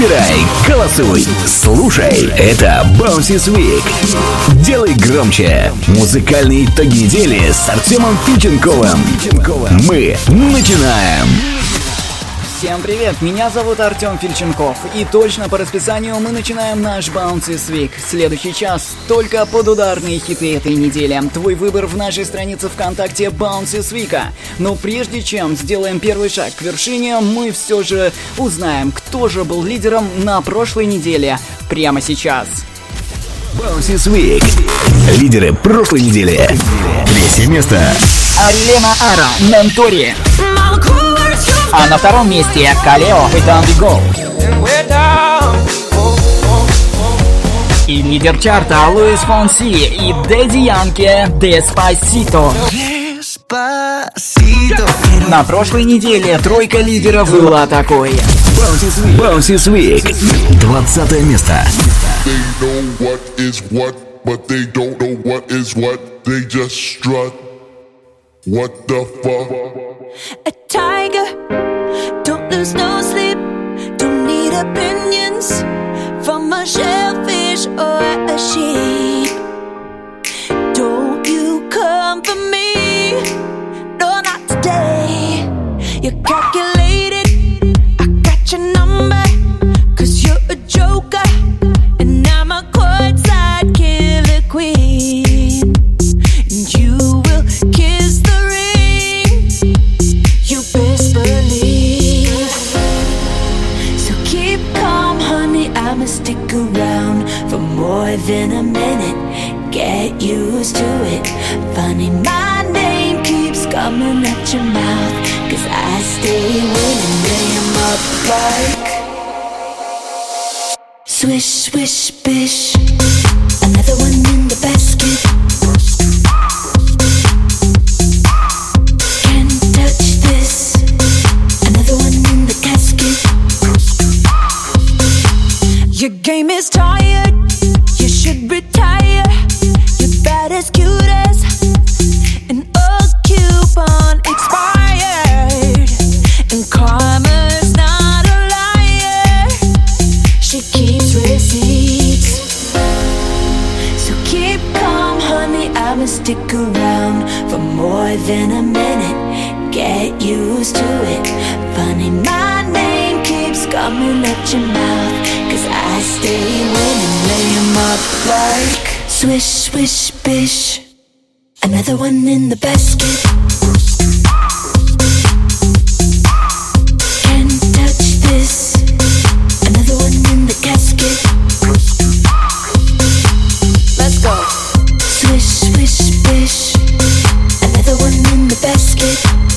Выбирай, голосуй, слушай. Это Bouncy Week. Делай громче. Музыкальные итоги недели с Артемом Фильченковым. Мы начинаем. Всем привет, меня зовут Артем Фильченков, и точно по расписанию мы начинаем наш Bouncy Week. Следующий час только под ударные хиты этой недели. Твой выбор в нашей странице ВКонтакте Bouncy Week. Но прежде чем сделаем первый шаг к вершине, мы все же узнаем, кто же был лидером на прошлой неделе. Прямо сейчас. Bouncy Week. Лидеры прошлой недели. Третье место. Арилена Ара, Ментори. А на втором месте Калео и Down We Go. И лидер чарта Луис Фонси и Дэдди Янки Деспасито. На прошлой неделе тройка лидеров была такой. Bouncy Week. 20 место. What the fuck? A tiger, don't lose no sleep. Don't need opinions from a shellfish or a sheep. Don't you come for me, no, not today. You're calculated, I got your number, 'cause you're a joker, and I'm a courtside killer queen. And you will kiss the ring, you best believe. So keep calm, honey, I'ma stick around for more than a minute. Get used to it. Funny, my name keeps coming at your mouth, 'cause I stay winning, lay 'em up like swish, swish, bish. Another one in the basket. Your game is tired, you should retire. You're bad as cute as an old coupon expired. And karma's not a liar, she keeps receipts. So keep calm, honey, I'ma stick around for more than a minute. Get used to it. Funny, my name keeps coming at your mouth, 'cause I stay winning, lay 'em up like swish, swish, bish. Another one in the basket. Can't touch this. Another one in the casket. Let's go. Swish, swish, bish. Another one in the basket.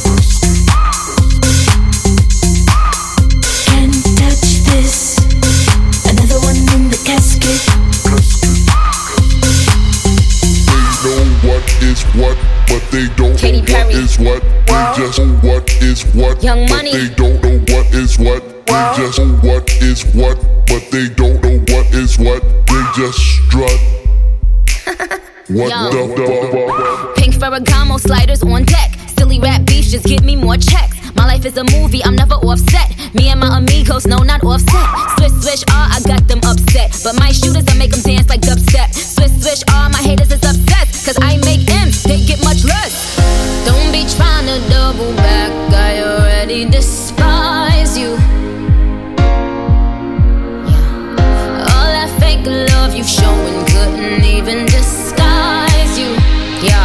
What, but they don't Katy know Perry. what is what. They just know what is what. Young but Money. they don't know what is what. They just know what is what, but they don't know what is what. They just strut. What Yo. the fuck? Pink Ferragamo sliders on deck. Silly rap beefs just give me more checks. My life is a movie, I'm never offset. Me and my amigos, no, not offset. Swish, swish, I got them upset. But my shooters, I make them dance like dubstep. Swish, swish, my haters is obsessed. 'Cause I make M's, they get much less. Don't be trying to double back, I already despise you. Yeah. All that fake love you showing couldn't even disguise you. Yo.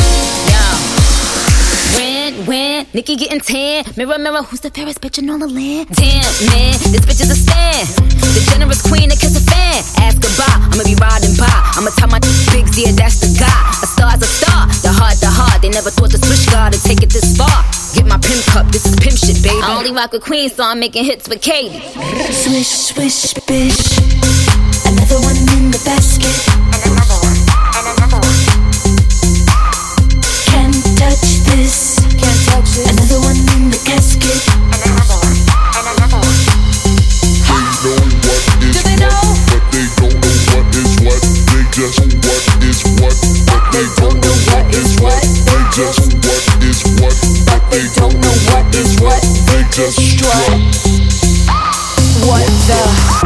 When Nikki getting tan, mirror, mirror, who's the fairest bitch in all the land? Damn, man, this bitch is a stand. The generous queen that kiss a fan. Ask goodbye, I'ma be riding by. I'ma tell my bigs, yeah, that's the guy. A star's a star, the heart. They never thought the switch guard would take it this far. Get my pimp cup, this is pimp shit, baby. I only rock with queens, so I'm making hits with Katie. Swish, swish, bish. Another one in the basket. And another one, and another one. Can't touch this. Can't touch this. Another one in the casket. And another one, and another one. They know what is what, but they don't know what is what. They just know what is what, but they don't know what is what. They just know what is what, but they don't know what is what. They just strut. What the?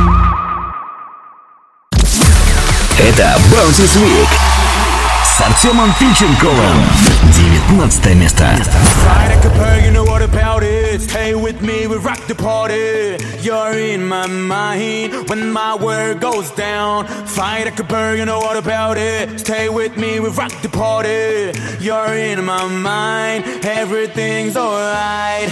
Это Bouncy Week с Артемом Фильченковым. 19 место. You know what about it? Stay with me, we rock the party. You're in my mind when my word goes down. Fight like a bird, you know what about it? Stay with me, we rock the party. You're in my mind, everything's alright.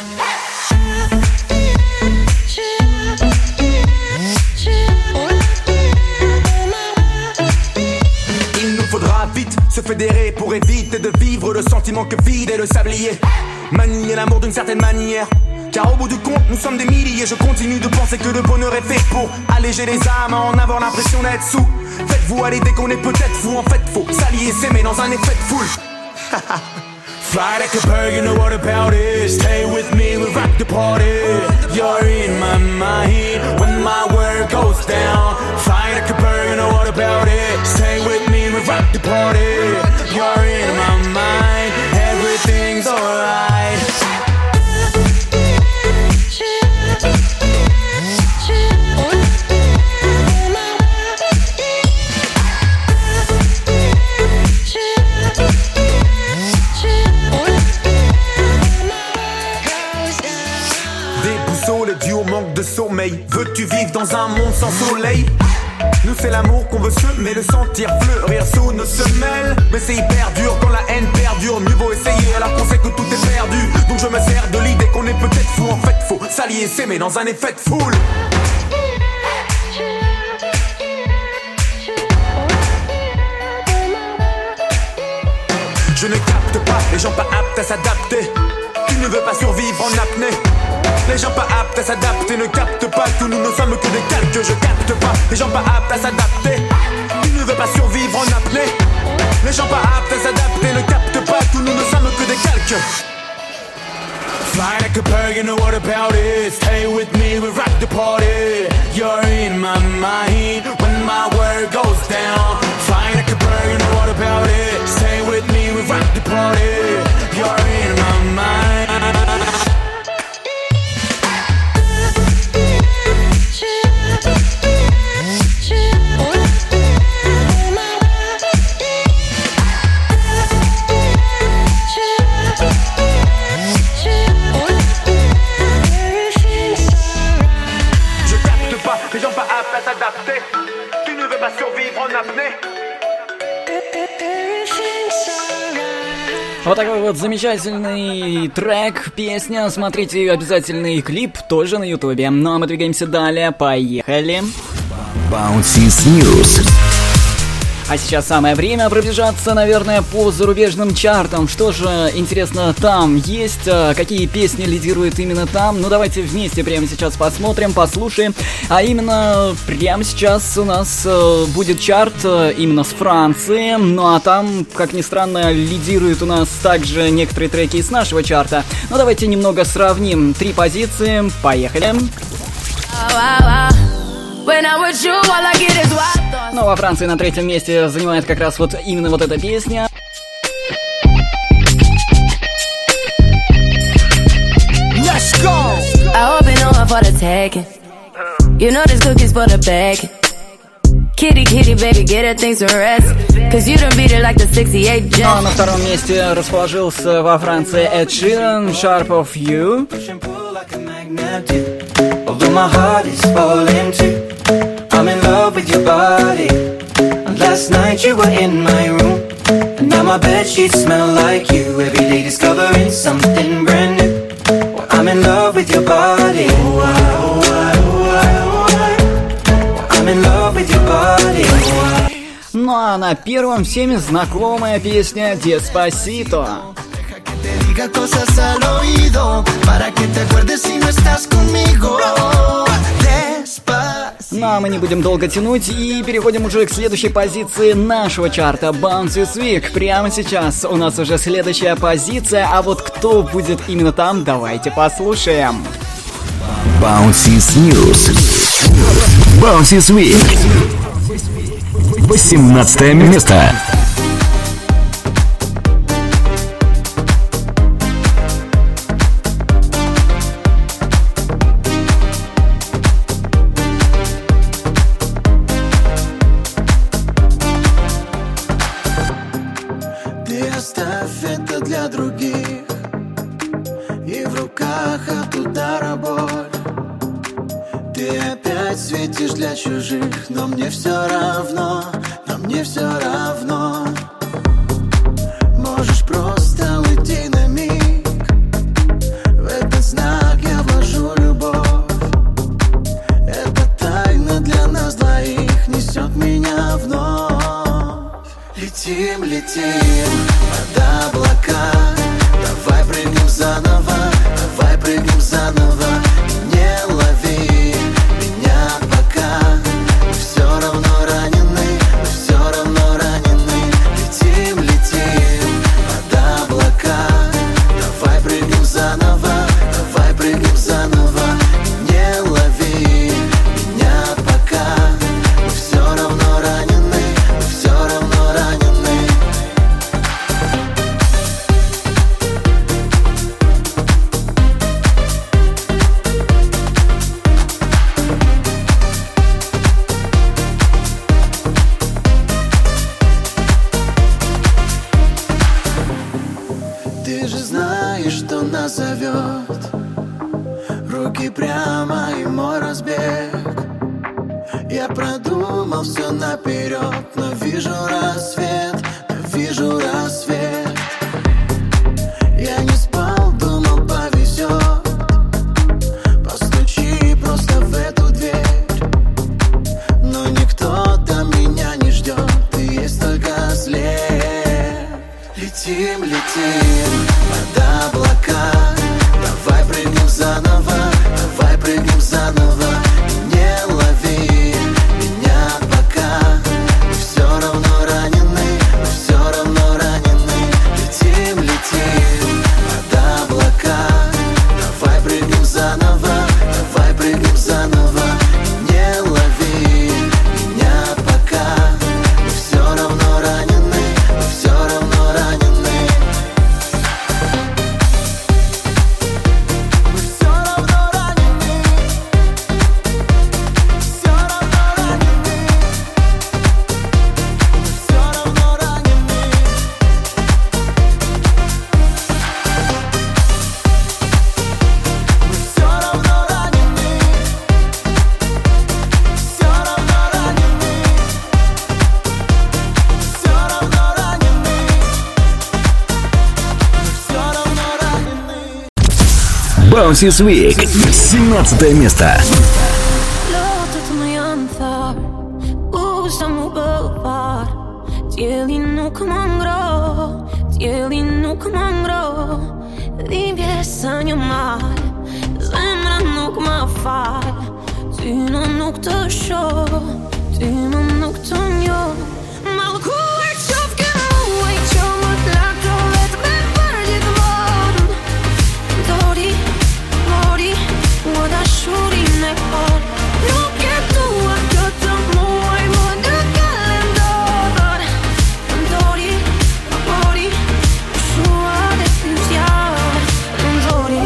Faudra vite se fédérer pour éviter de vivre le sentiment que vide est le sablier. Manier l'amour d'une certaine manière, car au bout du compte nous sommes des milliers. Je continue de penser que le bonheur est fait pour alléger les âmes, en avoir l'impression d'être sous. Faites-vous aller dès qu'on est peut-être fou. En fait faut s'allier, s'aimer dans un effet de foule. Fly like a bird, you know what about it? Stay with me, we rock the party. You're in my mind when my word goes down. Fly like a bird, you know what about it? Stay with me, we rock the party. You're in my mind, everything's alright. De sommeil, veux-tu vivre dans un monde sans soleil? Nous c'est l'amour qu'on veut semer, le sentir fleurir sous nos semelles. Mais c'est hyper dur quand la haine perdure. Mieux vaut essayer alors qu'on sait que tout est perdu. Donc je me sers de l'idée qu'on est peut-être fou. En fait faut s'allier et s'aimer dans un effet de foule. Je ne capte pas les gens pas aptes à s'adapter. Tu ne veux pas survivre en apnée. Les gens pas aptes à s'adapter ne captent pas que nous ne sommes que des calques. Je capte pas les gens pas aptes à s'adapter. Tu ne veux pas survivre en apnée. Les gens pas aptes à s'adapter ne captent pas que nous ne sommes que des calques. Fly like a bird, you know what about it? Stay with me, we rock the party. You're in my mind when my word goes down. Fly like a bird, you know what about it? Stay with me, we rock the party. You're in my mind. Les gens pas aptes à s'adapter. Tu ne veux pas survivre en apnée. Вот такой вот замечательный трек, песня. Смотрите обязательный клип тоже на ютубе. Ну а мы двигаемся далее. Поехали. Bouncy News. А сейчас самое время пробежаться, наверное, по зарубежным чартам. Что же, интересно, там есть? Какие песни лидируют именно там? Ну, давайте вместе прямо сейчас посмотрим, послушаем. А именно, прямо сейчас у нас будет чарт именно с Франции. Ну, а там, как ни странно, лидируют у нас также некоторые треки из нашего чарта. Ну, давайте немного сравним. 3 позиции. Поехали. Ну, во Франции на 3-м месте занимает как раз вот именно вот эта песня. Let's go! I hope you know I'm for the taking. You know this cookie's for the bag. Kitty, kitty, baby, get her things to rest. Cause you done beat it like the 68 Jet. Ну, а на 2-м месте расположился во Франции Эд Ширан, Sharp of You. Although my heart is falling too, I'm in love with your body. Last night you were in my room, and now my bedsheets smell like you. Every day discovering something brand new. Well, I'm in love with your body. Oh, I'm in love with your body. Ну а на 1-м всеми знакомая песня «Деспасито». Cosas al oído para que te acuerdes si no estás conmigo. Ну а мы не будем долго тянуть и переходим уже к следующей позиции нашего чарта Bouncy Week. Прямо сейчас у нас уже следующая позиция, а вот кто будет именно там, давайте послушаем. Bouncy News. Bouncy Week. 18 место. глазах от удара боль. Ты опять светишь для чужих, но мне все равно, но мне все равно. Можешь просто уйти на миг, в этот знак я вложу любовь. Эта тайна для нас двоих несет меня вновь. Летим, летим под облака, давай прыгнем заново, давай прыгнем заново. Не лови меня пока, мы все равно ранены, мы все равно ранены. Летим, летим под облака, давай прыгнем заново, давай прыгнем заново. Не лови меня пока, мы все равно ранены, мы все равно ранены. Ты же знаешь, что нас зовет руки прямо и мой разбег. Я продумал все наперед, но вижу рассвет, но вижу рассвет. Я не спал, думал, повезет. Постучи просто в эту дверь, но никто там меня не ждет, и есть только след. Летим, летим под облака, давай прыгнем заново, давай прыгнем заново. Не лови меня пока, мы все равно ранены, мы все равно ранены. Летим, летим под облака, давай прыгнем заново, давай прыгнем заново. Не лови меня пока, мы все равно ранены, мы все равно ранены. Мы все равно ранены, все равно ранены. Мы все равно ранены. Мы все равно ранены, все равно ранены. Все равно ранены. Мы все равно ранены. Bounces Week. 17 место. Låter som jag antar Osam boulevard Dieli nog mangro Dieli nog mangro Liebje san je maar Zemra nog maar far Tu non nog te show Tu non nog te njo Malku er tjofke moe Ik tjomot lagt og vet med verdig vård Dori, mori Og da shuri me hår Roket du har kjøtt om moi Må du kalendar Dori, mori Shua det hus jeg Dori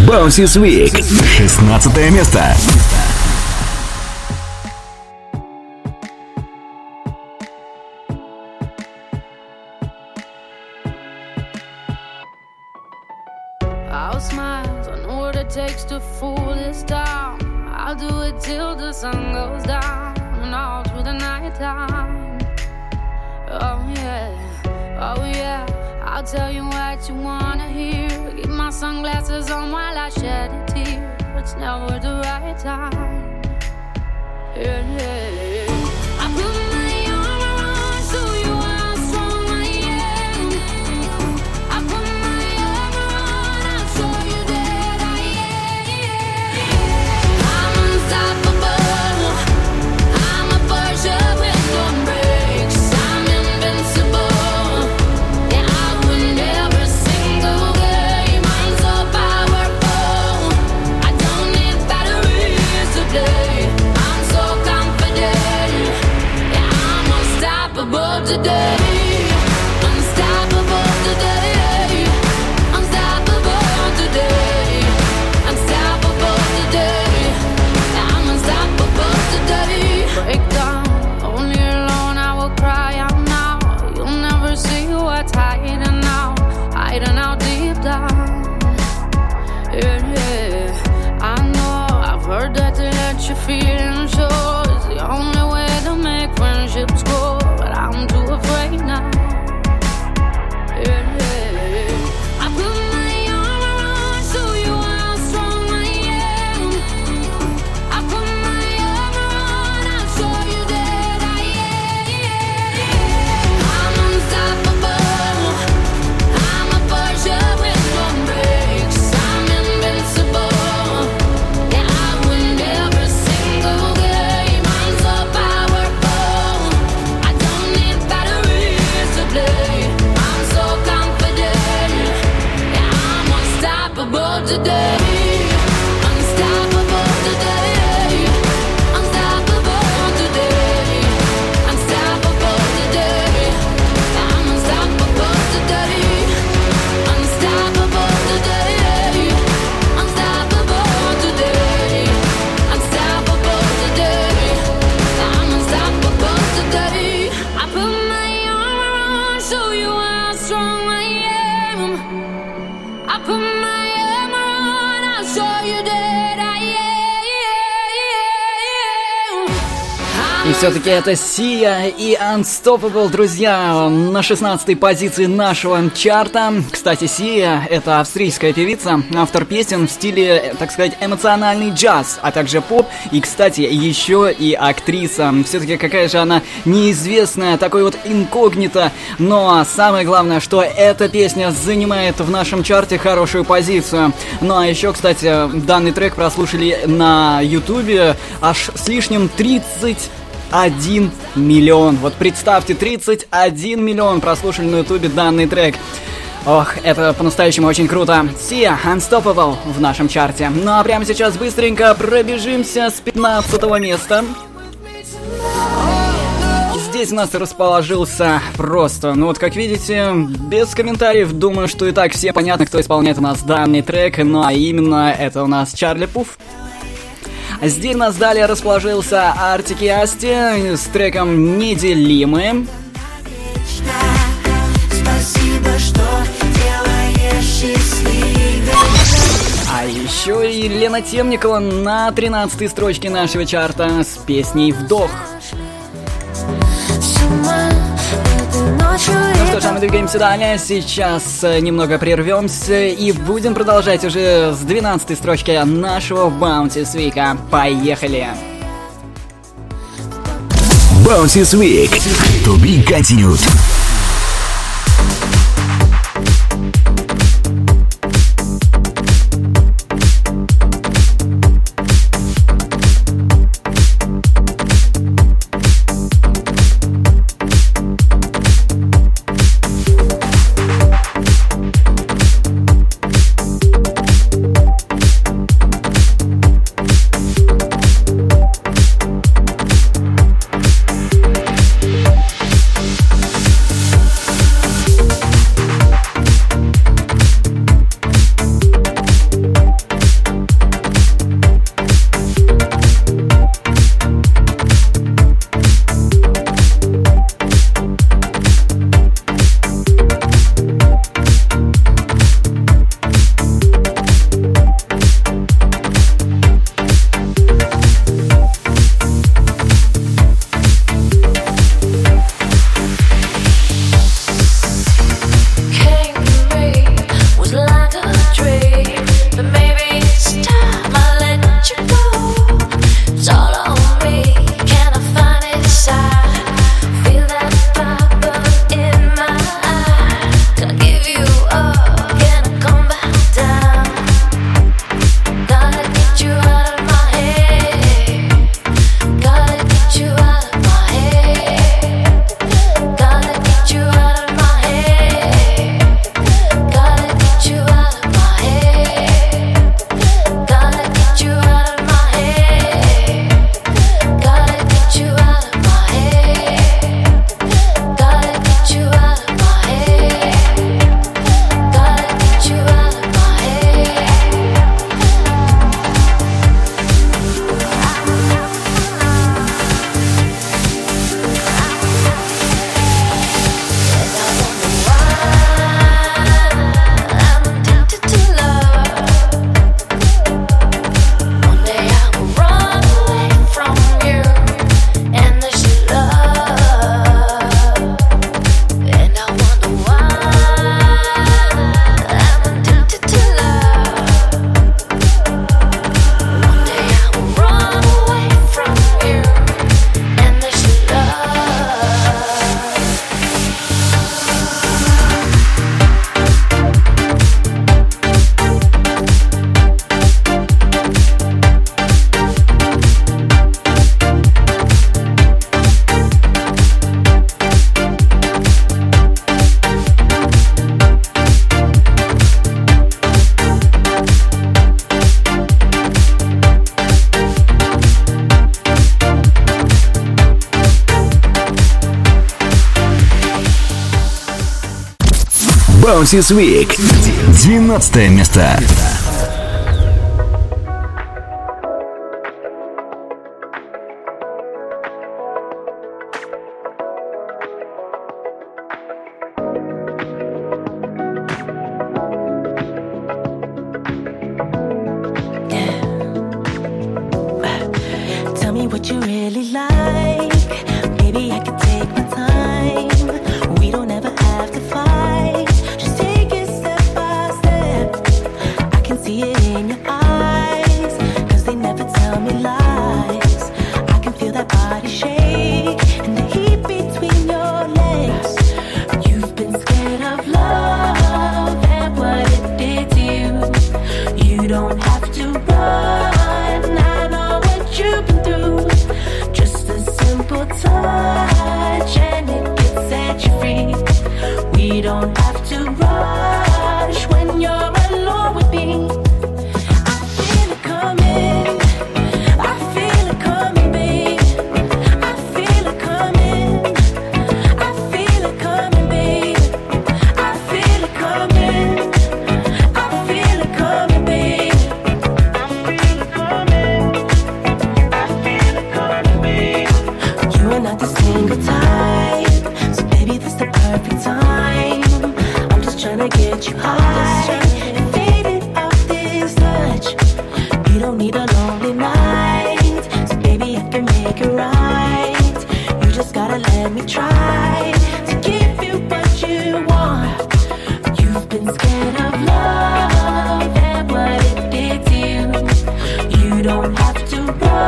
Bounces Week. 16 место. I'll smile, I know what it takes to fool this town. I'll do it till the sun goes down and all through the night time. Oh yeah, I'll tell you what you wanna hear. Keep my sunglasses on while I shed a tear. It's never the right time. Yeah. I put my arm around, show you how strong I am. I put my arm around, I'll show you that I am. I'm unstoppable. I'm a Porsche with no brakes. I'm invincible. Yeah, I win every single game. I'm so powerful. I don't need batteries to play. I'm so confident. Yeah, I'm unstoppable today. Unstoppable today. Unstoppable today. Unstoppable today. Yeah, I'm unstoppable today. Break down, only alone I will cry out now. You'll never see what's hiding out deep down. Yeah. I know, I've heard that to let your feelings show is the only way to make friendships grow, but I'm too afraid now. Yeah. I put my arm around, show you how strong I am. I put my arm around, I'll show you that I am. I'm unstoppable. I'm a Porsche with no brakes. I'm invincible. Yeah, I win every single game. I'm so powerful. I don't need batteries to play. I'm so confident. Yeah, I'm unstoppable today. Unstoppable today. Unstoppable today. Unstoppable today. I'm unstoppable today. Unstoppable today. Unstoppable today. Unstoppable today. I'm unstoppable today. I put my arm around, show you how strong I am. I put my arm around, I'll show you that I am. И все-таки это Sia и Unstoppable, друзья, на 16-й позиции нашего чарта. Кстати, Sia — это австрийская певица, автор песен в стиле, так сказать, эмоциональный джаз, а также поп. И, кстати, еще и актриса. Все-таки какая же она неизвестная, такой вот инкогнито. Но самое главное, что эта песня занимает в нашем чарте хорошую позицию. Ну а еще, кстати, данный трек прослушали на ютубе аж с лишним 31 миллион. Вот представьте, 31 миллион прослушали на ютубе данный трек. Ох, это по-настоящему очень круто. Sia, Unstoppable в нашем чарте. Ну а прямо сейчас быстренько пробежимся с 15 места. Здесь у нас расположился просто, ну вот как видите, без комментариев. Думаю, что и так все понятно, кто исполняет у нас данный трек. Ну а именно это у нас Чарли Пуф. Здесь у нас далее расположился Артик и Асти с треком «Неделимые». Спасибо, что делаешь счастливее. А еще и Лена Темникова на 13-й строчке нашего чарта с песней «Вдох». Ну что ж, а мы двигаемся далее. Сейчас немного прервемся и будем продолжать уже с 12-й строчки нашего Bounces Week. Поехали! Bounces Week. To be continued. Bouncy Week. 12 место. Tell me what you really like. Maybe I could take my time. We don't ever have to fight. Just take it step by step. I can see it in your eyes, 'cause they never tell me lies. I can feel that body shake and the heat between your legs. You've been scared of love and what it did to you. You don't have to run. I know what you've been through. Just a simple touch and it can set you free. We don't have to rush when you're alone with me. I feel it coming. I feel it coming, babe. I feel it coming. I feel it coming, babe. I feel it coming. I feel it coming, babe. I feel it coming. I feel it coming, babe. You are not the single type, so baby, this the perfect time. I'm just trying to get you high and faded off this touch. You don't need a lonely night, so baby, I can make it right. You just gotta let me try to give you what you want. You've been scared of love and what it did to you. You don't have to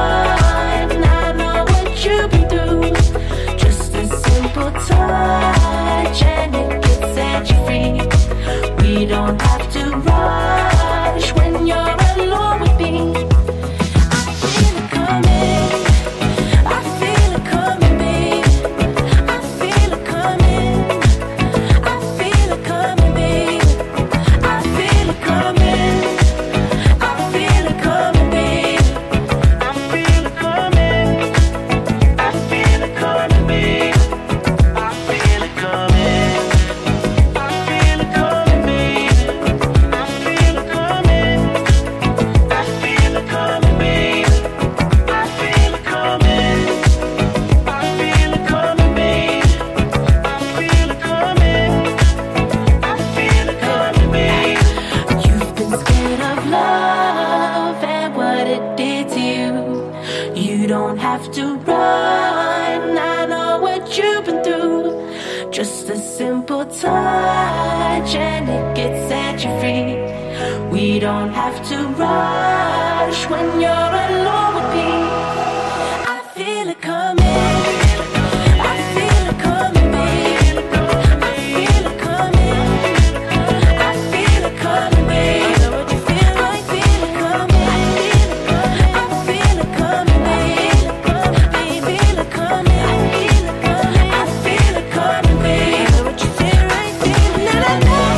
run. I know what you've been through. Just a simple touch and it can set you free. We don't have to rush when you're alone with me. I feel it coming. I feel it coming, babe. I feel it coming. I feel it coming, babe. I feel it coming. I feel it coming, babe. I feel it coming. I feel it coming, babe. I feel it coming. I feel it coming, babe. I feel it coming. I feel it coming, babe. I feel it coming. I feel it coming, babe. I feel it coming. I feel it coming, babe. You've been scared of love and what it did to you. You don't have to run. I know what you've been through. Just a simple touch and it gets set you free. We don't have to rush when you're alone with me. I feel it coming. I feel it coming, babe. I feel it coming. I feel it coming, babe. I know what you feel. I feel it coming. I feel it coming, babe. I feel it coming. I feel it coming, babe. I know what you feel. I feel it. I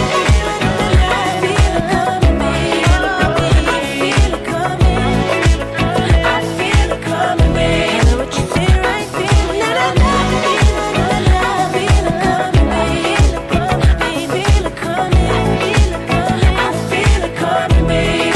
feel it coming, babe. I feel it coming. I feel it coming, babe. I know what you feel. I feel it. I feel it coming, babe. I feel it coming. I feel it coming, babe.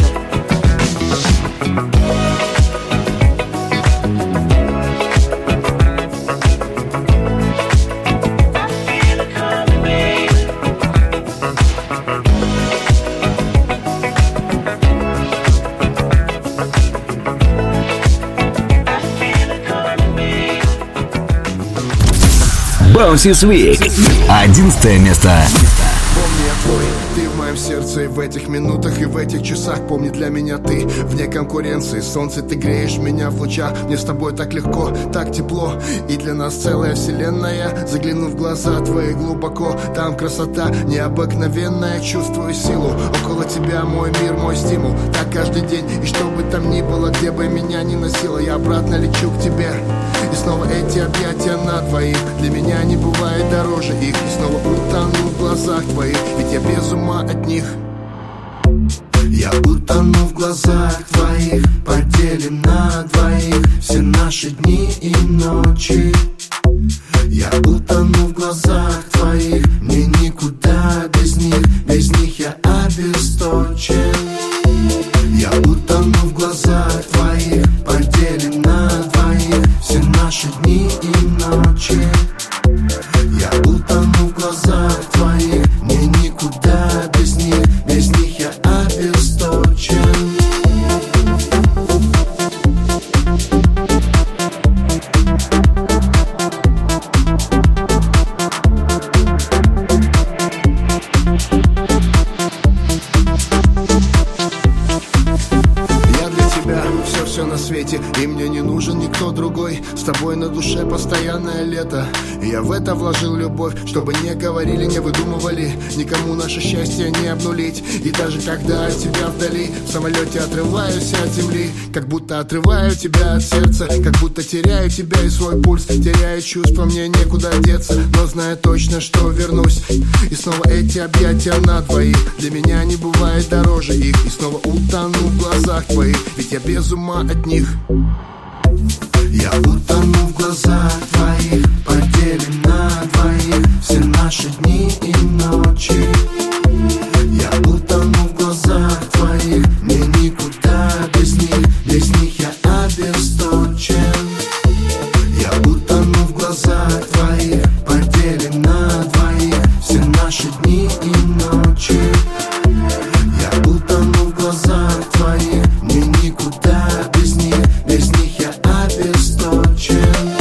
Bouncy Week. 11 место. Помни, я твой, ты в моем сердце. И в этих минутах, и в этих часах. Помни, для меня ты вне конкуренции. Солнце, ты греешь меня в лучах. Мне с тобой так легко, так тепло. И для нас целая вселенная. Загляну в глаза твои глубоко. Там красота необыкновенная. Чувствую силу, около тебя мой мир, мой стимул. Так каждый день, и что бы там ни было, где бы меня ни носило, я обратно лечу к тебе. И снова эти объятия на двоих. Для меня не бывает дороже их. И снова утону в глазах твоих, ведь я без ума от них. Я утону в глазах твоих. Поделим на двоих все наши дни и ночи. Я утону в глазах твоих, мне никуда без них я обесточен. Я утону в глазах твоих, поделим на двоих все наши дни и ночи. Я утону в глазах твоих, мне никуда без них я обесточен. Все на свете, и мне не нужен никто другой. С тобой на душе постоянное лето, и я в это вложил любовь. Чтобы не говорили, не выдумывали, никому наше счастье не обнулить. И даже когда от тебя вдали, в самолете отрываюсь от земли, как будто отрываю тебя от сердца, как будто теряю тебя и свой пульс. Теряю чувства, мне некуда деться, но знаю точно, что вернусь. И снова эти объятия на двоих, для меня не бывает дороже их. И снова утону в глазах твоих, ведь я без ума от них. Я утону в глазах твоих, поделим на двоих все наши дни и ночи. Я утону в глазах твоих, мне никуда без них я обесточен. Я утону в глазах твоих, поделим на двоих все наши дни и ночи. Я утону в глазах твоих, мне никуда без них я обесточен.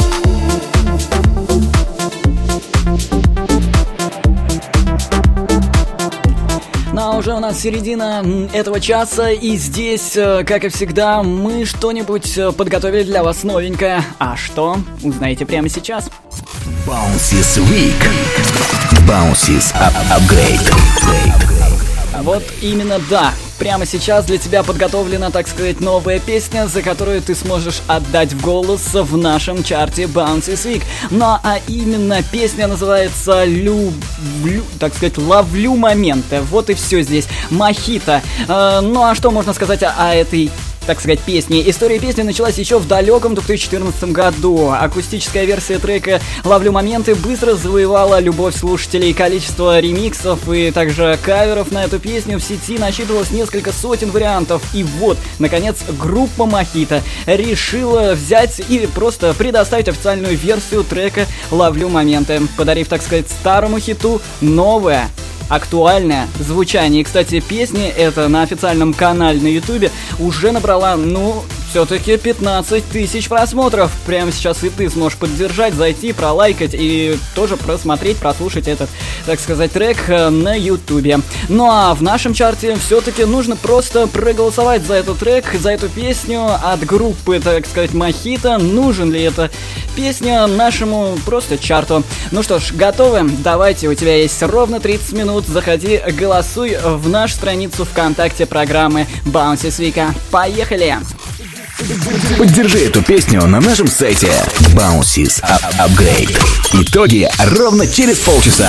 Ну а уже у нас середина этого часа, и здесь, как и всегда, мы что-нибудь подготовили для вас новенькое. А что? Узнаете прямо сейчас. Bounces Week. Bounces Upgrade. Вот именно, да. Прямо сейчас для тебя подготовлена, так сказать, новая песня, за которую ты сможешь отдать голос в нашем чарте Bounces Week. Ну а именно песня называется так сказать, «Ловлю моменты». Вот и все здесь. Мохито. Ну а что можно сказать о этой, так сказать, песни? История песни началась еще в далеком 2014 году. Акустическая версия трека «Ловлю моменты» быстро завоевала любовь слушателей. Количество ремиксов и также каверов на эту песню в сети насчитывалось несколько сотен вариантов. И вот, наконец, группа Мохито решила взять и просто предоставить официальную версию трека «Ловлю моменты», подарив, так сказать, старому хиту новое, актуальное звучание. И, кстати, песня эта на официальном канале на ютубе уже набрала, все-таки 15 тысяч просмотров. Прямо сейчас и ты сможешь поддержать, зайти, пролайкать и тоже просмотреть, прослушать этот, так сказать, трек на ютубе. Ну а в нашем чарте все-таки нужно просто проголосовать за этот трек, за эту песню от группы, так сказать, Мохито. Нужен ли эта песня нашему просто чарту? Ну что ж, готовы? Давайте, у тебя есть ровно 30 минут. Заходи, голосуй в нашу страницу ВКонтакте программы Bounces Week. Поехали! Поддержи эту песню на нашем сайте Bounces Upgrade. Итоги ровно через полчаса.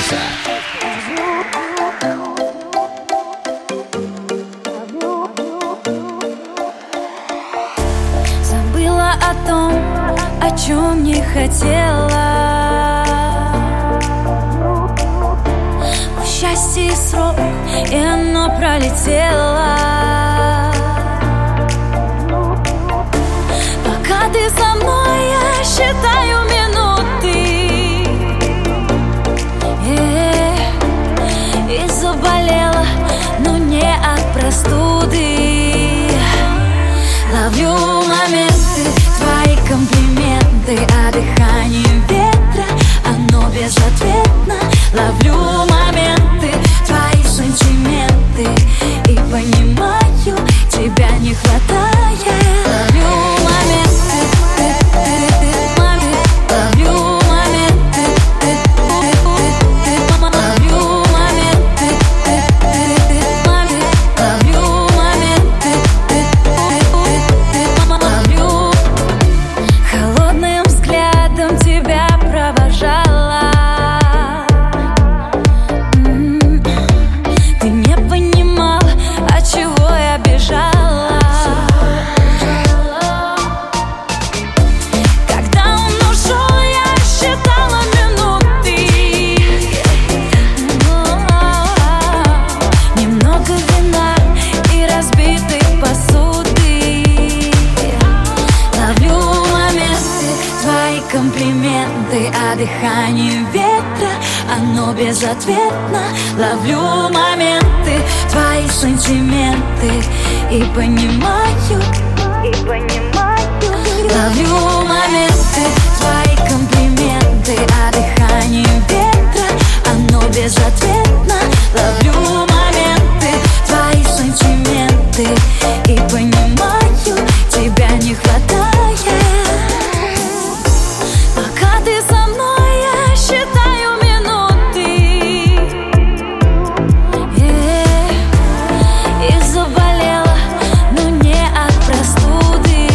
Забыла о том, о чем не хотела. Счастье и срок, и оно пролетело. Пока ты со мной, я считаю минуты. И заболела, но не от простуды. Ловлю моменты, твои комплименты, а дыхание ветра, оно безответно. Ловлю моменты, твои сантименты, и понимаю, дыхание ветра, оно безответно. Ловлю моменты, твои сантименты и понимаю. Ловлю моменты, твои комплименты, а дыхание ветра, оно безответно. Ловлю моменты, твои сантименты и понимаю, тебя не хватает. Пока ты со мной, я считаю минуты. И заболела, но не от простуды.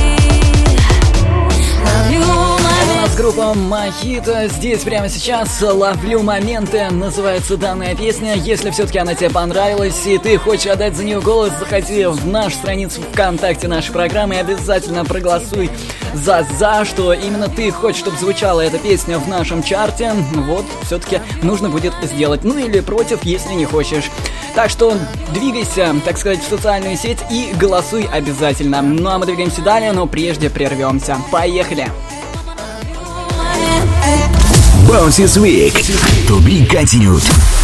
Ловлю моменты. Группа Мохито здесь прямо сейчас. Ловлю моменты, называется данная песня. Если все-таки она тебе понравилась и ты хочешь отдать за нее голос, заходи в нашу страницу ВКонтакте нашей программы и обязательно проголосуй за что именно ты хочешь, чтобы звучала эта песня в нашем чарте. Вот, все-таки нужно будет сделать. Ну или против, если не хочешь. Так что двигайся, так сказать, в социальную сеть и голосуй обязательно. Ну а мы двигаемся далее, но прежде прервемся. Поехали! Bounces Week. To be continued.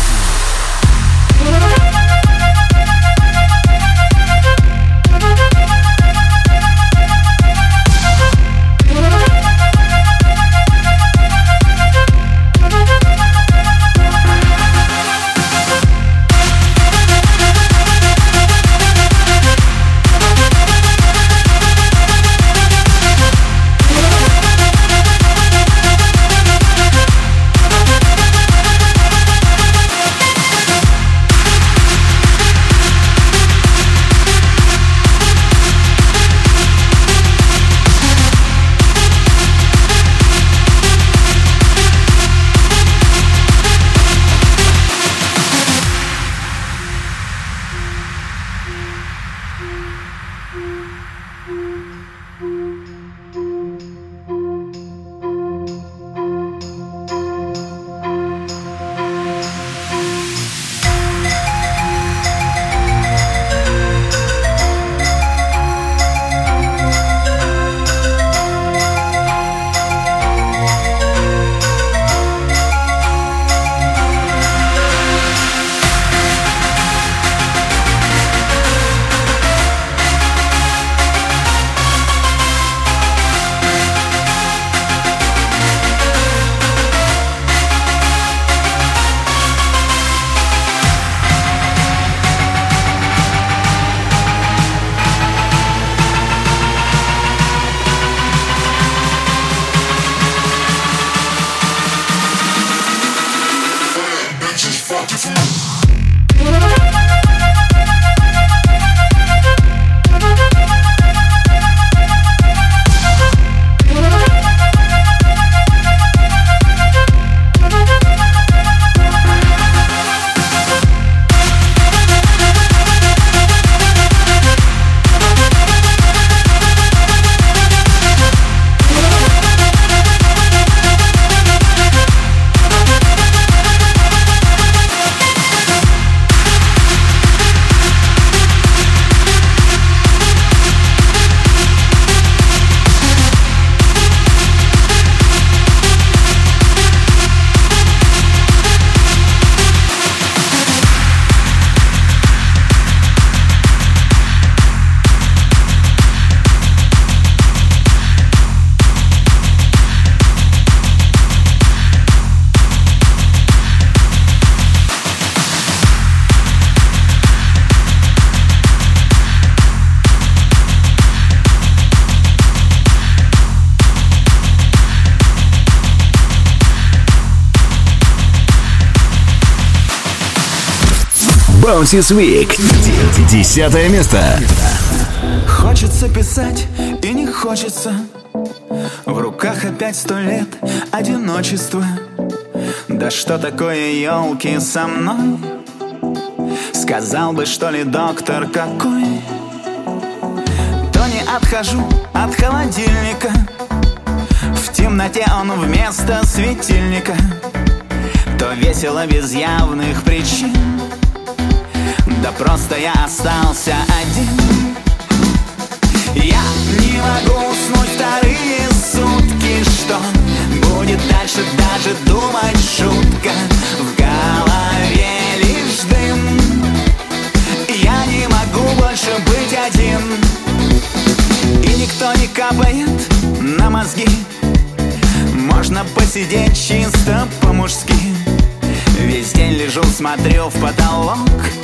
Bounces Week. 10 место. Хочется писать и не хочется. В руках опять 100 лет одиночества. Да что такое, елки, со мной? Сказал бы, что ли, доктор какой? То не отхожу от холодильника. В темноте он вместо светильника. То весело без явных причин. Да просто я остался один. Я не могу уснуть вторые сутки. Что будет дальше, дальше даже думать шутка. В голове лишь дым. Я не могу больше быть один. И никто не капает на мозги. Можно посидеть чисто по-мужски. Весь день лежу, смотрю в потолок.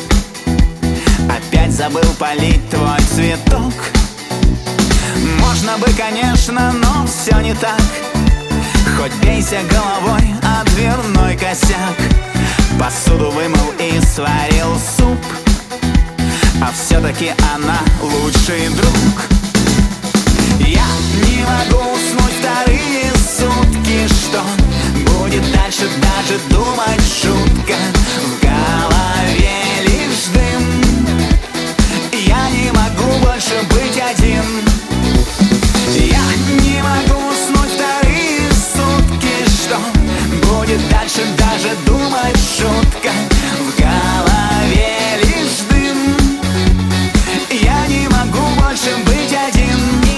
Опять забыл полить твой цветок. Можно бы, конечно, но все не так. Хоть бейся головой о дверной косяк. Посуду вымыл и сварил суп. А все-таки она лучший друг. Я не могу уснуть вторые сутки. Что будет дальше, даже думать шутка. В голове лишь дым. Я не могу больше быть один. Я не могу уснуть вторые сутки. Что будет дальше, даже думать шутка. В голове лишь дым. Я не могу больше быть один.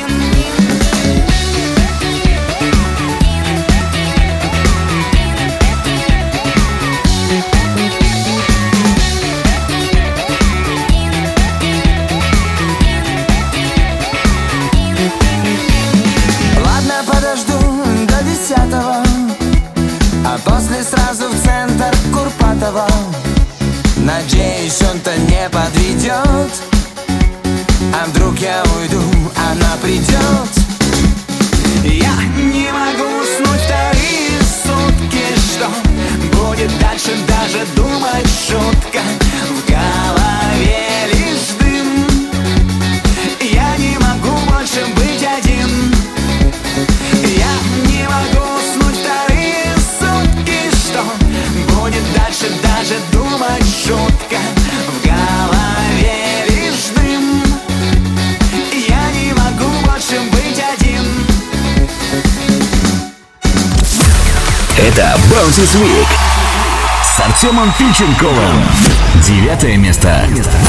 Ладно, подожду до 10-го, а после сразу в центр Курпатова. Надеюсь, он-то не подведет. А вдруг я уйду, она придет. Я не могу уснуть вторые сутки. Что будет дальше, даже думать шутка. В голове лишь дым. Я не могу больше быть один. Я не могу уснуть вторые сутки. Что будет дальше, даже думать шутка. В голове лишь дым. Я не могу больше быть один. Это Bounces Week с Артемом Фильченковым. 9 место.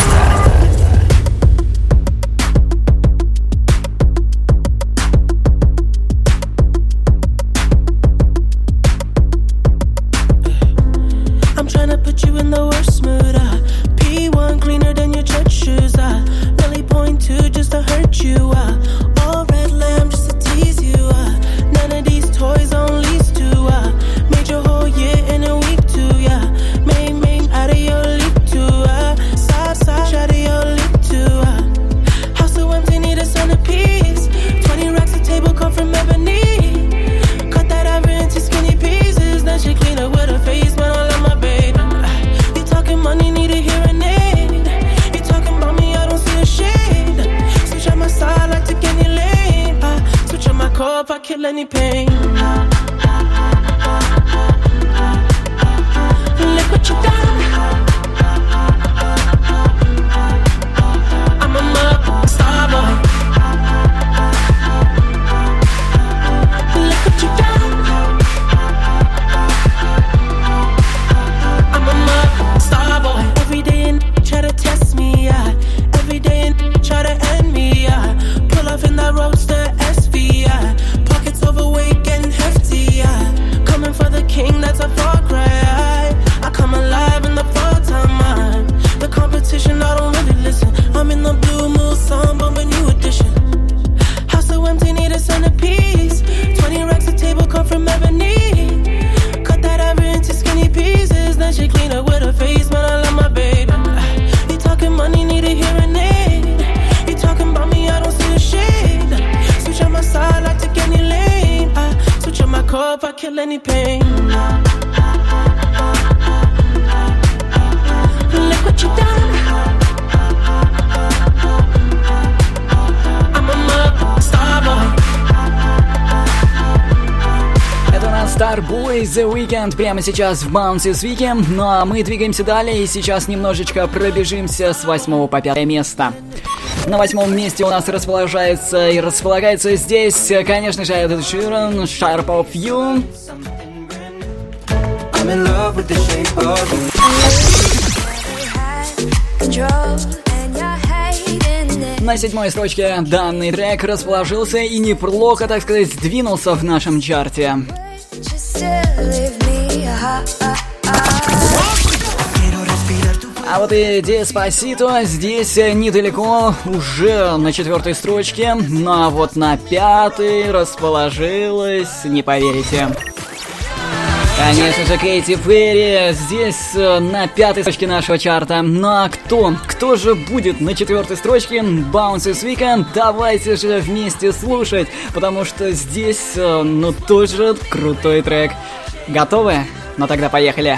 I'm tryna put you in the worst mood. P1 cleaner than your church shoes. Really point to just to hurt you. All red lamb just to tease you. None of these toys on lease to. Made your whole year in a week too. Yeah, made out of your leap too. Side out of your leap too. House so empty, need a centerpiece. 20 racks of table come from ebony. Cut that ever into skinny pieces. Then she clean up with her face, man. I love my baby. You talking money, need a hearing aid. You talking about me, I don't see a shade. Switch on my side, I take any lane. Switch on my core if I kill any pain. Look what you done. I'm a star boy. Look what you done. I'm a star boy. Every day and try to test me, yeah. Every day and try to end me, yeah. Pull off in that roadster SV, yeah. Pockets overweight, getting hefty, yeah. Coming for the king, that's a far cry. I come alive in the fall time, man. The competition, I don't really listen. I'm in the blue moon, song, bumping new edition. House so empty, need a centerpiece. 20 racks of table come from ebony. Cut that ever into skinny pieces. Then she clean up with her face, man, I love my baby. You talking money, need a hearing aid. You talking about me, I don't see a shade. Switch on my side, I take any lane. Switch on my core if I kill any pain. Look what you done. I'm a star boy. Это у нас Starboy The Weeknd прямо сейчас в Bounces Week. Ну а мы двигаемся далее и сейчас немножечко пробежимся с 8 по 5 место. На 8 месте у нас располагается здесь, конечно же, Эд Ширан, Sharp of You. I'm in love with the shape of you. На 7 строчке данный трек расположился и неплохо, так сказать, сдвинулся в нашем чарте. still leave me А вот и Деспасито здесь недалеко, уже на 4-й строчке, но вот на 5-й расположилась, не поверите. Конечно же, Кэти Перри здесь на 5-й строчке нашего чарта. Ну а кто же будет на 4-й строчке Bounces Weekend? Давайте же вместе слушать, потому что здесь, ну, тоже крутой трек. Готовы? Ну тогда поехали.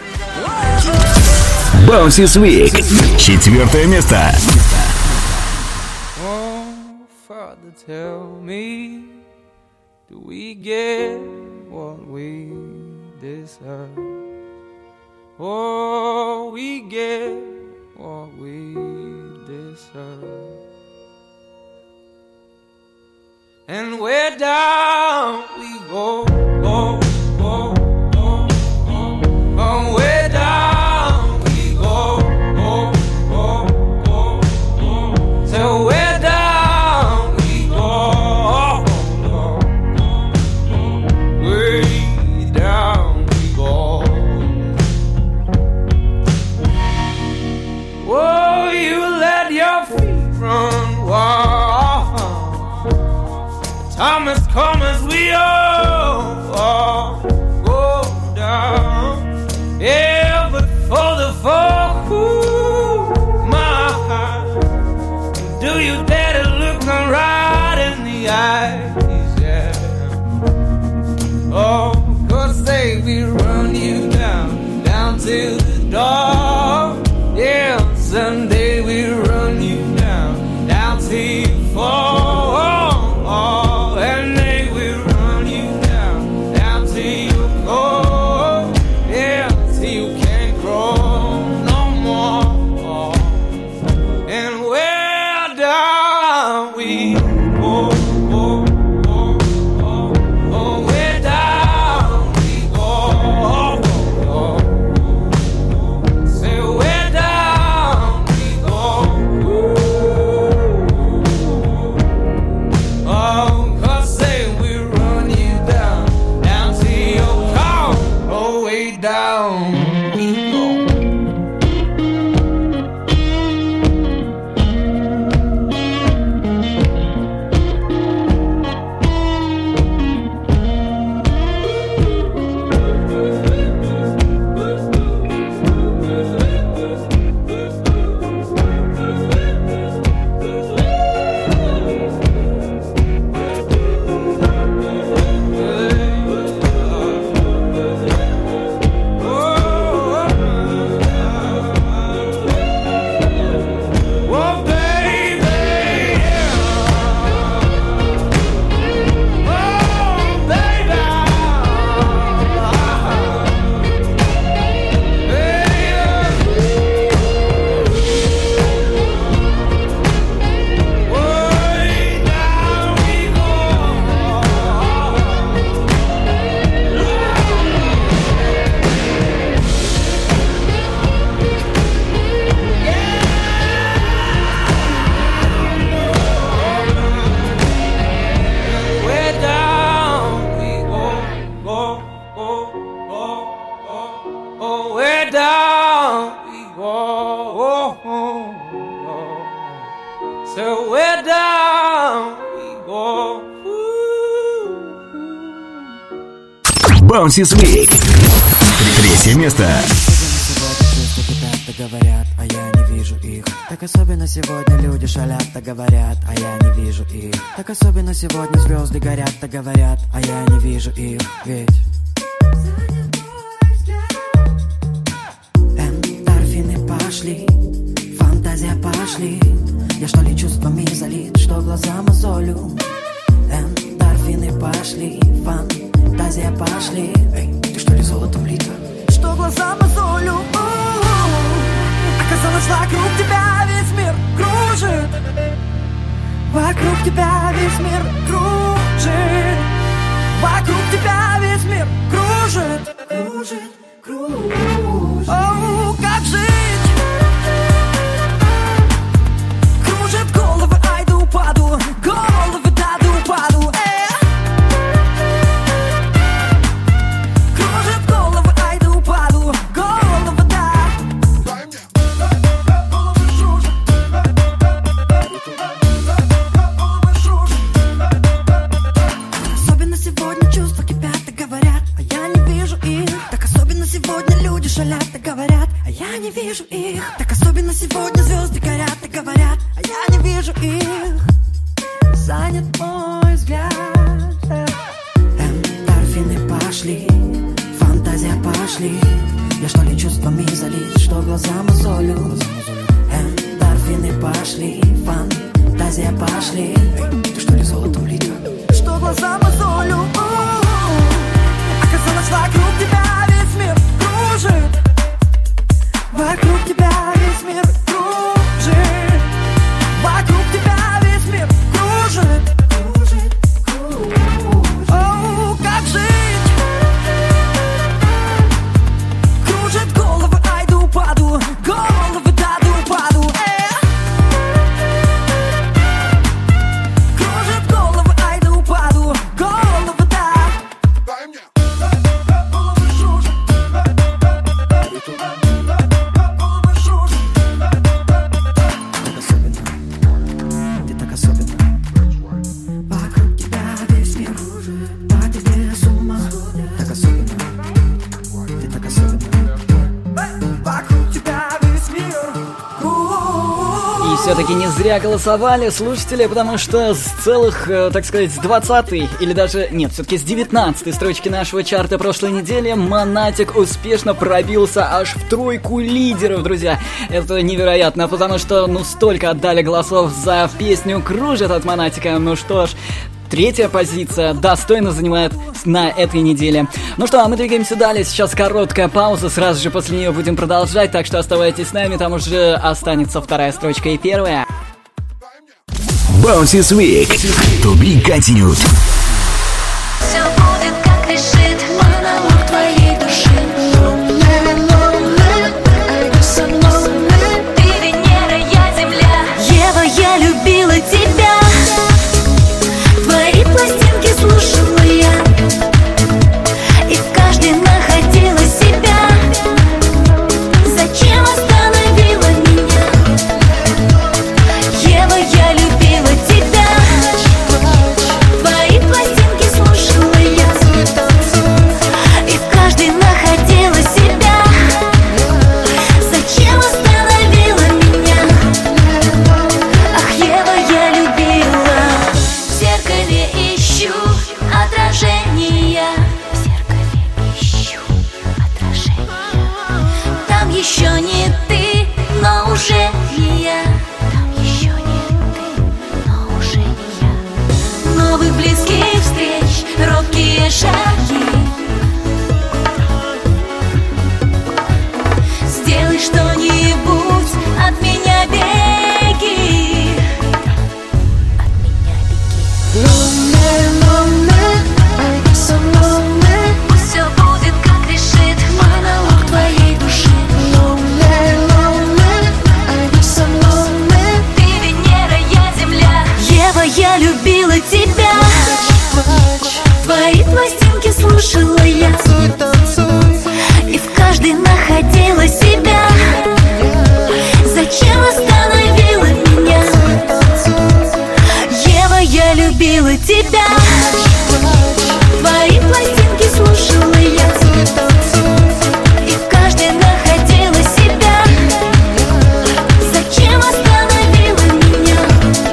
Bounces Week. 4-е место. Oh, Father, tell me, do we get what we deserve? Oh, we get what we deserve. And where down we go, go, go, go, go. Oh, where down we go, go, go, go, go. So where down we go, go, go, go. Way down we go. Oh, you let your feet run wild. Time has come as we all go down. Yeah, but for the fall, ooh, my heart, do you dare to look me right in the eyes? Yeah. Oh, 'cause they will run you down to the door. Yeah, someday we run you down till you fall. And they will run you down till you go. Yeah, till you can't grow no more. And where down we go, go, go, go. Oh, where down we go, go, go. Say where down we go. Oh, 'cause say we run you down to your car. Oh, way down we go. Oh, baby, yeah. Oh, baby, way down we go. Where down we go, go, go, go, go. Oh, where down we go, oh, oh. So where down we go. Bounces Week. 3-е место. Чувства кипят, так говорят, а я не вижу их. Так особенно сегодня люди шалят, так говорят, а я не вижу их. Так особенно сегодня звезды горят, так говорят, а я не вижу их. Ведь эндорфины пошли, фантазия пошли. Я что ли чувствами залит, что глаза мозолю. Эндорфины пошли, фантазия пошли. Эй, ты что ли золотом лита? Что глаза мозолю. Оказалось, вокруг тебя весь мир кружит. Вокруг тебя весь мир кружит. Вокруг тебя весь мир кружит. Кружит, кружит. Оу, как жить? Кружит головы, ай да упаду. Головы, да упаду. их занят мой взгляд. Эндорфины пошли, фантазия пошли. Я что ли чувствами залит, что глаза мозолю. Эндорфины пошли, фантазия пошли. Ты что ли золотом лита? Что глаза мозолю. Оказалось, вокруг тебя весь мир кружит. Вокруг тебя весь мир кружит. Вокруг тебя весь мир кружит. О, как жить? Кружит головы, айду паду. Головы даду паду. Кружит головы, айду паду. Головы да. Все-таки не зря голосовали слушатели, потому что с целых, так сказать, с 20-й, или даже, нет, все-таки с 19-й строчки нашего чарта прошлой недели Монатик успешно пробился аж в тройку лидеров, друзья. Это невероятно, потому что, столько отдали голосов за песню «Кружит» от Монатика. Ну что ж, третья позиция достойно занимает на этой неделе. Ну что, а мы двигаемся далее. Сейчас короткая пауза, сразу же после нее будем продолжать, так что оставайтесь с нами, там уже останется вторая строчка и первая. Bounces Week. To be continued. Все будет, как решит монолог твоей души. Ты Венера, я Земля. Ева, я любила тебя. Твои пластинки слушала я, и в каждой находила себя. Зачем остановила меня? Ева, я любила тебя. Твои пластинки слушала я, и в каждой находила себя. Зачем остановила меня? Ах, Ева, я любила. В зеркале ищу отражения. В зеркале ищу отражения. Там еще не ты, но уже не я. Там еще не ты, но уже не я. Новых близких встреч, робкие шаги. Сделай что-нибудь, от меня беги. От меня беги. Пусть все будет, как решит монолог твоей души. Ты Венера, я Земля. Ева, я любила тебя. Твои пластинки слушала я, и в каждой находила себя. Зачем остановила меня? Ева, я любила тебя. Твои пластинки слушала я, и в каждой находила себя. Зачем остановила меня?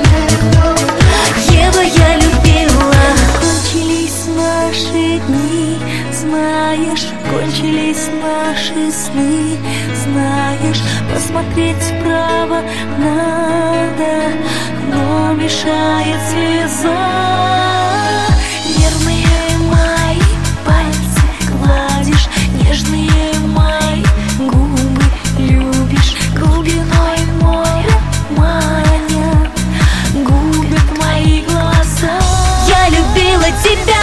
Ева, я любила. Кончились наши дни, знаешь, кончились наши сны, знаешь, посмотреть вправо надо, но мешает слеза. Нервные мои пальцы гладишь, нежные мои губы любишь, глубиной моря маня губят мои глаза. Я любила тебя.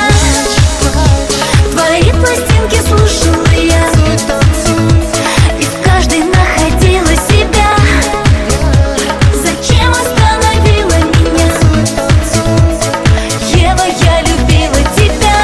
Твои пластинки слушала я, и в каждой находила себя. Зачем остановила меня? Ева, я любила тебя.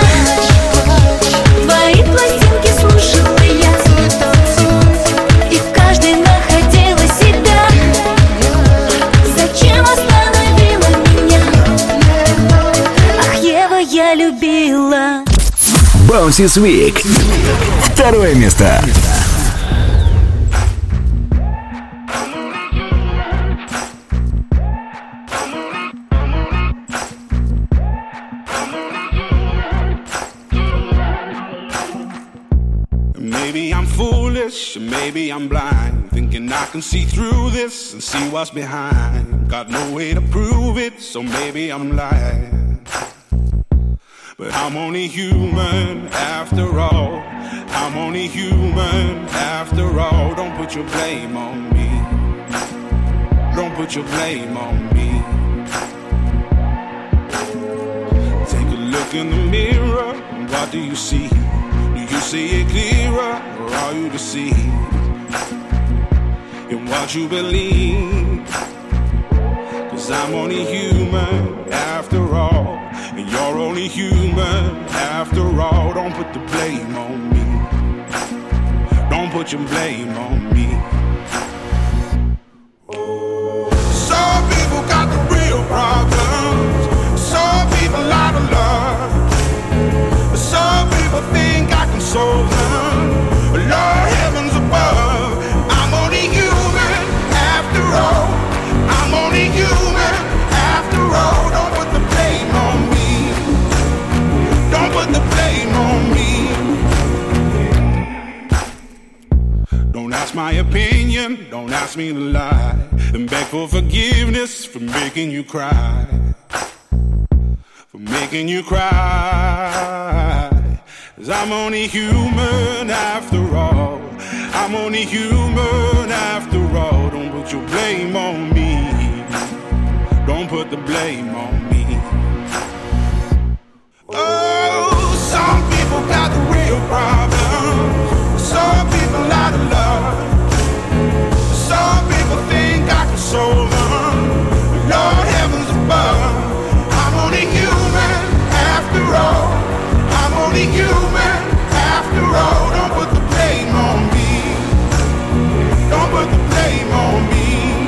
Твои пластинки слушала я, и в каждой находила себя. Зачем остановила меня? Ах, Ева, я любила. Bounces Week. Второе место. foolish, and maybe I'm blind, thinking I can see through this and see what's behind. Got no way to prove it, so maybe I'm lying. But I'm only human after all. I'm only human after all. Don't put your blame on me. Don't put your blame on me. Take a look in the mirror, what do you see? Do you see it clearer, or are you deceived in what you believe? 'Cause I'm only human after all, and you're only human after all. Don't put the blame on me. Don't put your blame on me. Some people got the real problems. Some people out of love. Some people think I can solve them. Lord heavens above, I'm only human after all. I'm only human after all. Don't put the blame on me. Don't put the blame on me. Don't ask my opinion, don't ask me to lie, and beg for forgiveness for making you cry. For making you cry. 'Cause I'm only human after all. I'm only human after all. Don't put your blame on me. Don't put the blame on me. Oh, some people got the real problems. Some people out of love. Some people think I can solve them. Lord heavens above, I'm only human after all. I'm only human after all. Don't put the blame on me. Don't put the blame on me.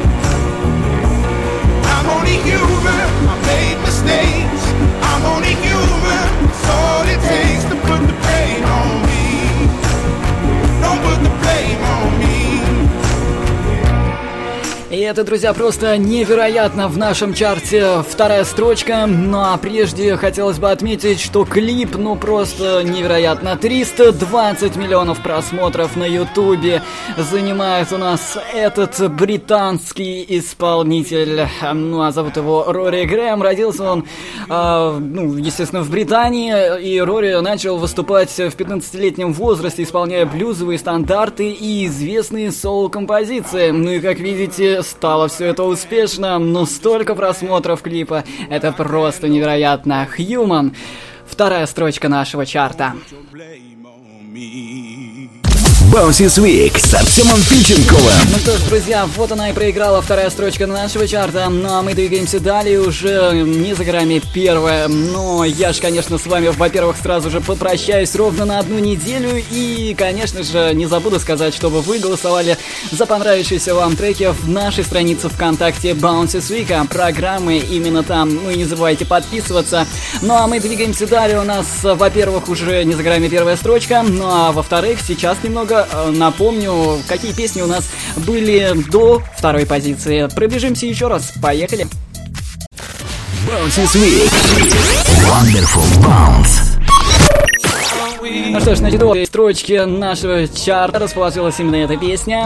I'm only human. I made mistakes. I'm only human. It's all it takes to put the blame on me. Don't put the blame on me. И это, друзья, просто невероятно в нашем чарте. Вторая строчка. Ну а прежде хотелось бы отметить, что клип, ну просто невероятно. 320 миллионов просмотров на ютубе занимает у нас этот британский исполнитель. Ну а зовут его Рори Грэм. Родился он, естественно, в Британии. И Рори начал выступать в 15-летнем возрасте, исполняя блюзовые стандарты и известные соул-композиции. Ну и как видите, стало все это успешно, но столько просмотров клипа, это просто невероятно. Human, вторая строчка нашего чарта. Bounces Week с Артемом Фильченковым. Ну что ж, друзья, вот она и проиграла вторая строчка нашего чарта. Ну а мы двигаемся далее, уже не за горами первая. Но я же, конечно, с вами, во-первых, сразу же попрощаюсь ровно на 1 неделю. И, конечно же, не забуду сказать, чтобы вы голосовали за понравившиеся вам треки в нашей странице ВКонтакте Bounces Week. Программы именно там. Ну и не забывайте подписываться. Ну а мы двигаемся далее. У нас, во-первых, уже не за горами первая строчка. Ну а во-вторых, сейчас немного напомню, какие песни у нас были до второй позиции. Пробежимся еще раз. Поехали. Bounces Week. Wonderful Bounce. Ну что ж, на титульной строчке нашего чарта расположилась именно эта песня.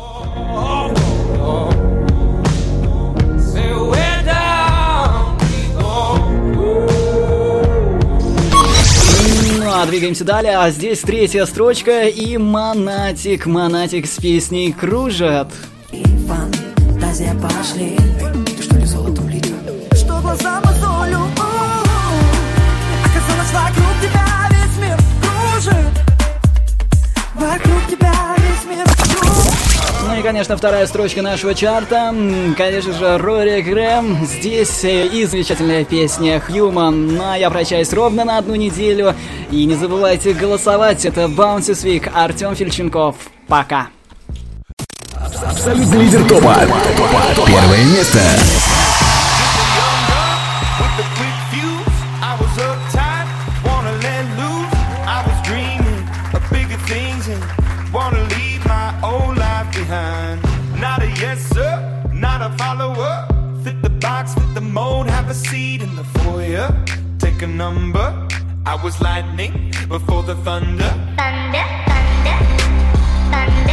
Двигаемся далее, а здесь третья строчка и Монатик с песней «Кружат». Фантазия пошли. Ты что ли золотом литра? Что глаза мозолю? Оказалось, вокруг тебя весь мир кружит. Вокруг тебя весь мир кружит. Ну и, конечно, вторая строчка нашего чарта. Конечно же, Рори Грэм. Здесь и замечательная песня «Human». Ну а я прощаюсь ровно на 1 неделю. И не забывайте голосовать. Это Bounces Week. Артем Фильченков. Пока. Абсолютный лидер топа. Первое место. Not a yes sir, not a follower. Fit the box, fit the mold, have a seat in the foyer. Take a number. I was lightning before the thunder. Thunder, thunder, thunder.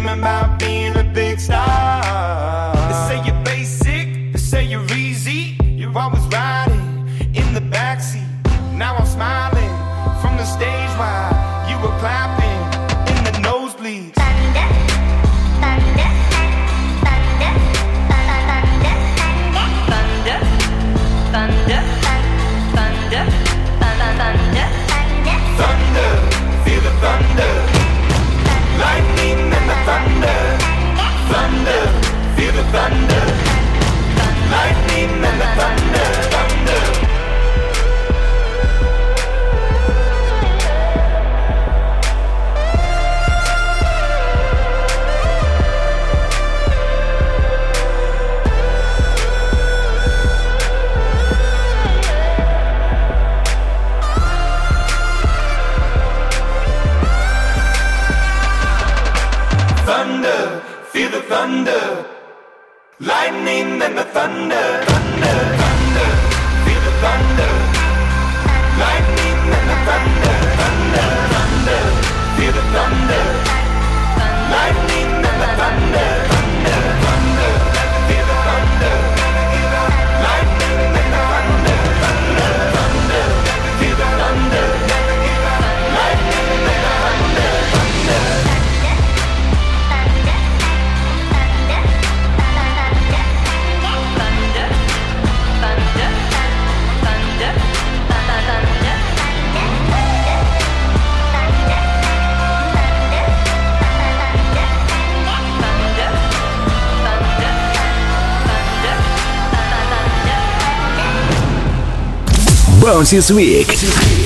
dreaming about being a big star. They say you're basic, they say you're easy. You're always riding in the backseat. Now I'm smiling from the stage while you were clapping in the nosebleeds. Thunder, thunder, thunder, thunder, thunder, thunder, thunder, thunder, feel the thunder, lightning and the thunder, thunder, feel the thunder, lightning and the thunder, thunder. Thunder, feel the thunder, lightning and the thunder, thunder, thunder, feel the thunder, lightning and the thunder, thunder, thunder, feel the thunder, lightning and the thunder, thunder, thunder, feel the thunder, lightning and the thunder, thunder, thunder, feel the thunder, lightning and the thunder, thunder. Bounces Week.